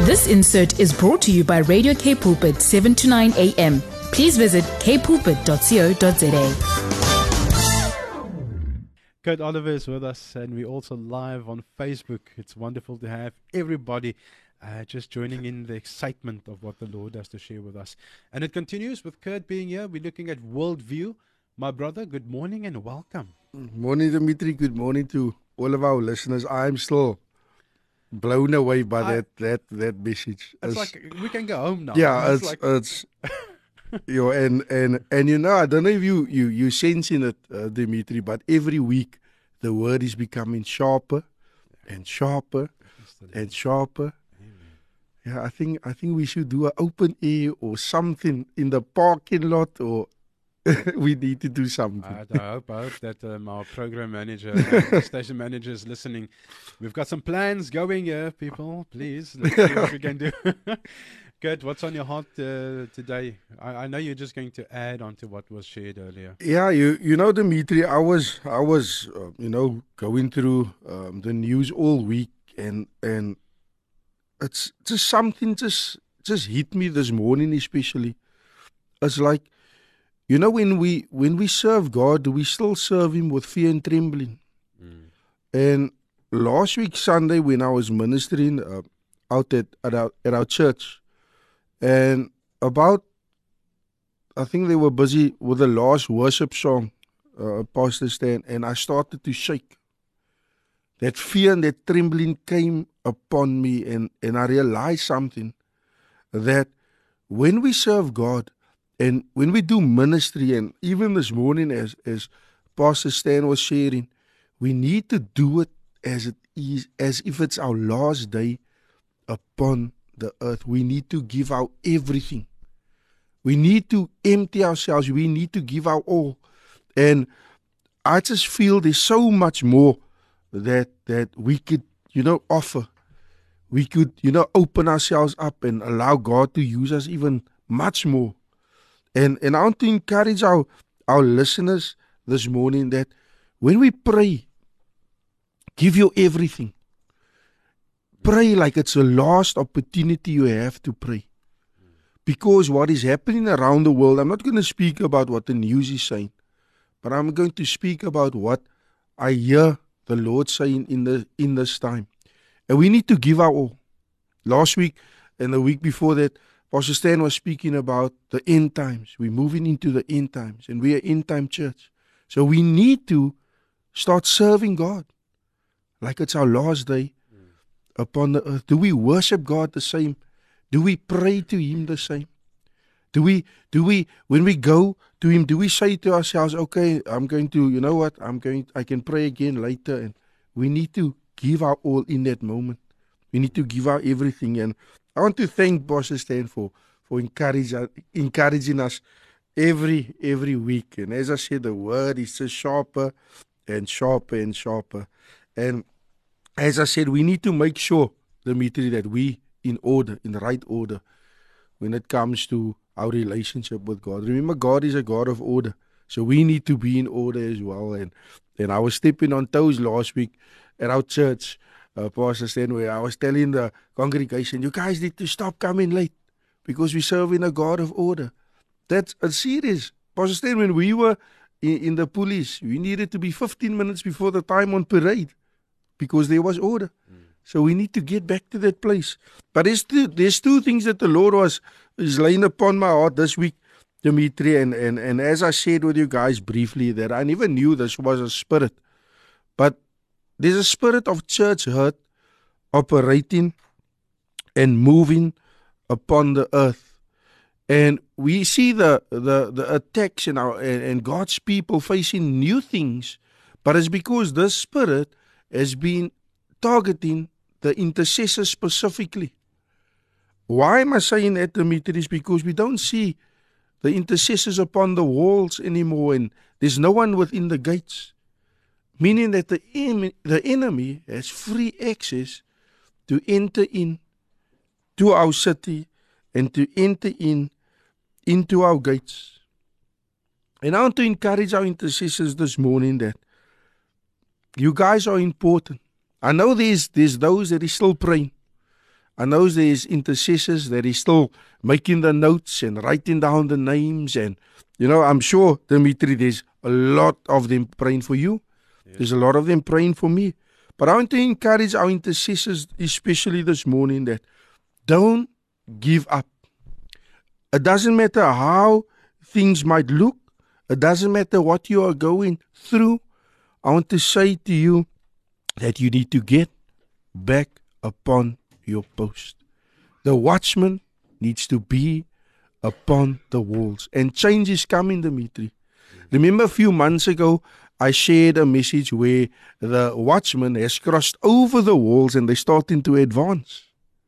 This insert is brought to you by Radio K Pulpit 7 to 9 a.m. Please visit kpulpit.co.za. Kurt Oliver is with us, and we're also live on Facebook. It's wonderful to have everybody just joining in the excitement of what the Lord has to share with us. And it continues with Kurt being here. We're looking at worldview. My brother, good morning and welcome. Morning, Dimitri. Good morning to all of our listeners. I'm still blown away by that message. It's like we can go home now. Yeah, it's you know, and you know, I don't know if you sensing it, Dimitri, but every week the word is becoming sharper and sharper and sharper. Yeah, I think we should do an open air or something in the parking lot, or we need to do something. I hope that our program manager, station manager is listening. We've got some plans going here, people. Please, let's see what we can do. Kurt, what's on your heart today? I know you're just going to add on to what was shared earlier. Yeah, you know, Dimitri, I was going through the news all week, and it's just something just hit me this morning, especially. It's like, you know, when we serve God, we still serve Him with fear and trembling. And last week Sunday, when I was ministering out at our church, and I think they were busy with the last worship song, Pastor Stan, and I started to shake. That fear and that trembling came upon me, and I realized something, that when we serve God, and when we do ministry, and even this morning as Pastor Stan was sharing, we need to do it as it is, as if it's our last day upon the earth. We need to give out everything. We need to empty ourselves. We need to give our all. And I just feel there's so much more that we could, offer. We could, open ourselves up and allow God to use us even much more. And I want to encourage our listeners this morning that when we pray, give your everything. Pray like it's the last opportunity you have to pray. Because what is happening around the world, I'm not going to speak about what the news is saying, but I'm going to speak about what I hear the Lord saying in this time. And we need to give our all. Last week and the week before that, Pastor Stan was speaking about the end times. We're moving into the end times, and we're an end time church. So we need to start serving God like it's our last day upon the earth. Do we worship God the same? Do we pray to Him the same? Do we when we go to Him, do we say to ourselves, okay, I'm going to, I can pray again later? And we need to give our all in that moment. We need to give our everything. And I want to thank Pastor Stan for encouraging us every week. And as I said, the word is just sharper and sharper and sharper. And as I said, we need to make sure, Dimitri, that we in the right order, when it comes to our relationship with God. Remember, God is a God of order. So we need to be in order as well. And I was stepping on toes last week at our church, Pastor Stan, where I was telling the congregation, you guys need to stop coming late because we serve in a God of order. That's serious. Pastor Stan, when we were in the police, we needed to be 15 minutes before the time on parade because there was order. So we need to get back to that place. But there's two things that the Lord is laying upon my heart this week, Dimitri, and as I shared with you guys briefly, that I never knew this was a spirit. But there's a spirit of church hurt operating and moving upon the earth. And we see the attacks and God's people facing new things, but it's because this spirit has been targeting the intercessors specifically. Why am I saying that, Dimitri? Is because we don't see the intercessors upon the walls anymore, and there's no one within the gates. Meaning that the enemy has free access to enter in to our city and to enter into our gates. And I want to encourage our intercessors this morning that you guys are important. I know there's those that is still praying. I know there's intercessors that is still making the notes and writing down the names. And, I'm sure, Dimitri, there's a lot of them praying for you. Yes. There's a lot of them praying for me. But I want to encourage our intercessors, especially this morning, that don't give up. It doesn't matter how things might look. It doesn't matter what you are going through. I want to say to you that you need to get back upon your post. The watchman needs to be upon the walls. And change is coming, Dimitri. Remember a few months ago, I shared a message where the watchman has crossed over the walls and they're starting to advance.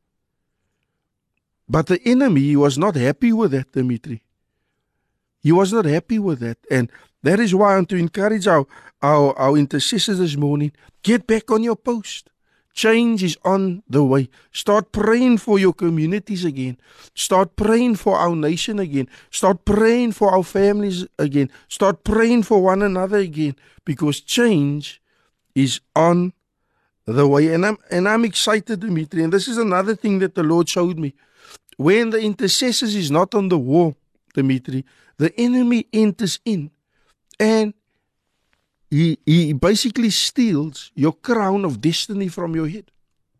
But the enemy was not happy with that, Dimitri. He was not happy with that. And that is why I want to encourage our intercessors this morning. Get back on your post. Change is on the way. Start praying for your communities again. Start praying for our nation again. Start praying for our families again. Start praying for one another again. Because change is on the way. And I'm excited, Dimitri. And this is another thing that the Lord showed me. When the intercessors is not on the wall, Dimitri, the enemy enters in and he basically steals your crown of destiny from your head.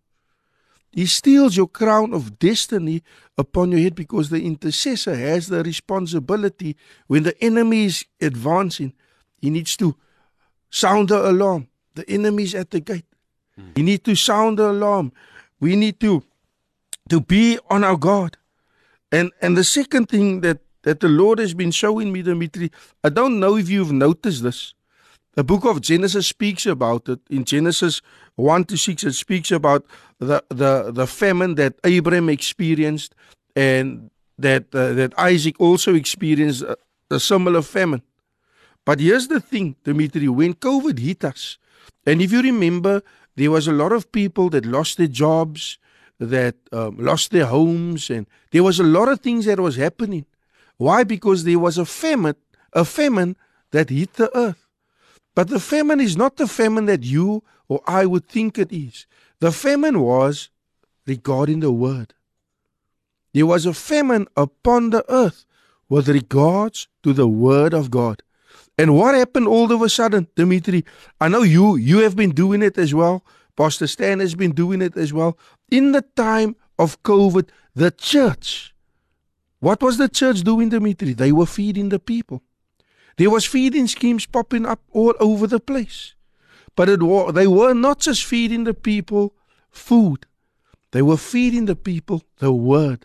He steals your crown of destiny upon your head because the intercessor has the responsibility when the enemy is advancing. He needs to sound the alarm. The enemy is at the gate. He needs to sound the alarm. We need to be on our guard. And the second thing that the Lord has been showing me, Dimitri, I don't know if you've noticed this. The book of Genesis speaks about it. In Genesis 1-6, it speaks about the famine that Abraham experienced and that Isaac also experienced a similar famine. But here's the thing, Dimitri, when COVID hit us, and if you remember, there was a lot of people that lost their jobs, that lost their homes, and there was a lot of things that was happening. Why? Because there was a famine that hit the earth. But the famine is not the famine that you or I would think it is. The famine was regarding the word. There was a famine upon the earth with regards to the word of God. And what happened all of a sudden, Dimitri? I know you have been doing it as well. Pastor Stan has been doing it as well. In the time of COVID, the church, what was the church doing, Dimitri? They were feeding the people. There was feeding schemes popping up all over the place. But they were not just feeding the people food. They were feeding the people the word.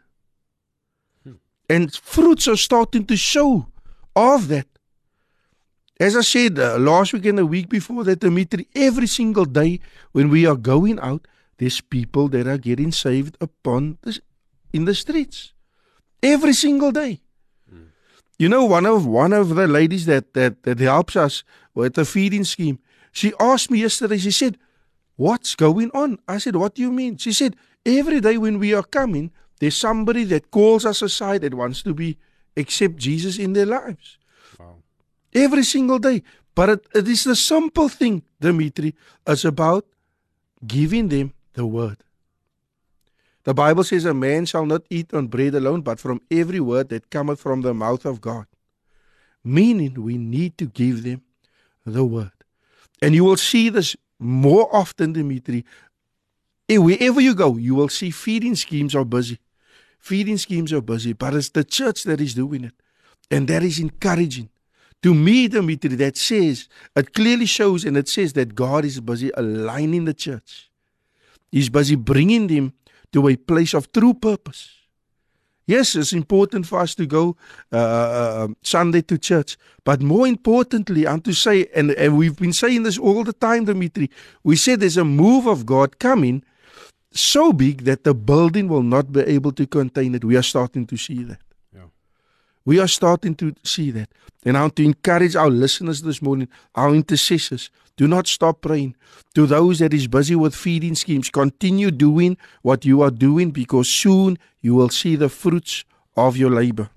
And fruits are starting to show of that. As I said last week and the week before that, Dimitri, every single day when we are going out, there's people that are getting saved in the streets. Every single day. You know, one of the ladies that helps us with the feeding scheme, she asked me yesterday, she said, what's going on? I said, what do you mean? She said, every day when we are coming, there's somebody that calls us aside that wants to accept Jesus in their lives. Wow. Every single day. But it is the simple thing, Dimitri. It's about giving them the word. The Bible says a man shall not eat on bread alone, but from every word that cometh from the mouth of God. Meaning we need to give them the word. And you will see this more often, Dimitri. Wherever you go, you will see feeding schemes are busy. Feeding schemes are busy, but it's the church that is doing it. And that is encouraging. To me, Dimitri, that says, it clearly shows and it says that God is busy aligning the church. He's busy bringing them to a place of true purpose. Yes, it's important for us to go Sunday to church. But more importantly, I'm to say, and we've been saying this all the time, Dimitri, we said there's a move of God coming so big that the building will not be able to contain it. We are starting to see that. Yeah. We are starting to see that. And I want to encourage our listeners this morning, our intercessors, do not stop praying. To those that is busy with feeding schemes, continue doing what you are doing, because soon you will see the fruits of your labor.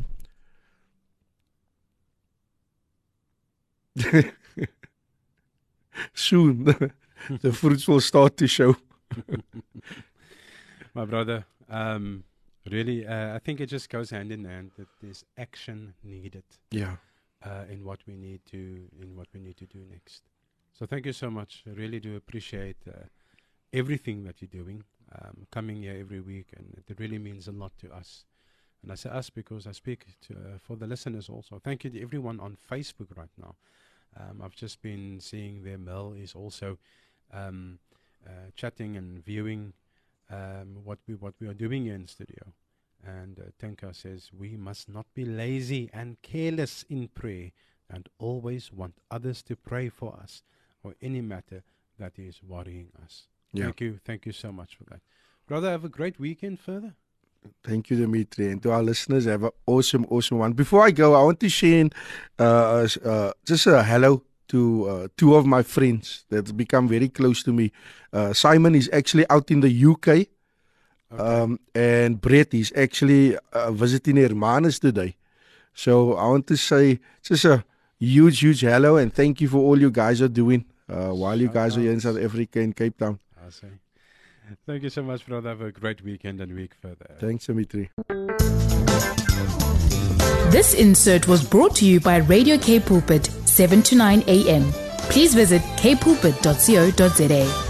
Soon the fruits will start to show. My brother, really, I think it just goes hand in hand that there's action needed Yeah. in what we need to do next. So thank you so much. I really do appreciate everything that you're doing, coming here every week, and it really means a lot to us. And I say us because I speak for the listeners also. Thank you to everyone on Facebook right now. I've just been seeing their Mel is also chatting and viewing what we are doing here in studio. And Tenka says, we must not be lazy and careless in prayer and always want others to pray for us or any matter that is worrying us. Yeah. Thank you so much for that. Brother, have a great weekend further. Thank you, Dimitri. And to our listeners, have an awesome one. Before I go, I want to share just a hello to two of my friends that's become very close to me. Simon is actually out in the UK. Okay. And Brett is actually visiting Hermanus today. So I want to say just a huge hello and thank you for all you guys are doing while you guys are here in South Africa in Cape Town. I'll say. Thank you so much, brother. Have a great weekend and week further. Thanks, Dimitri. This insert was brought to you by Radio K Pulpit, 7 to 9 a.m. Please visit kpulpit.co.za.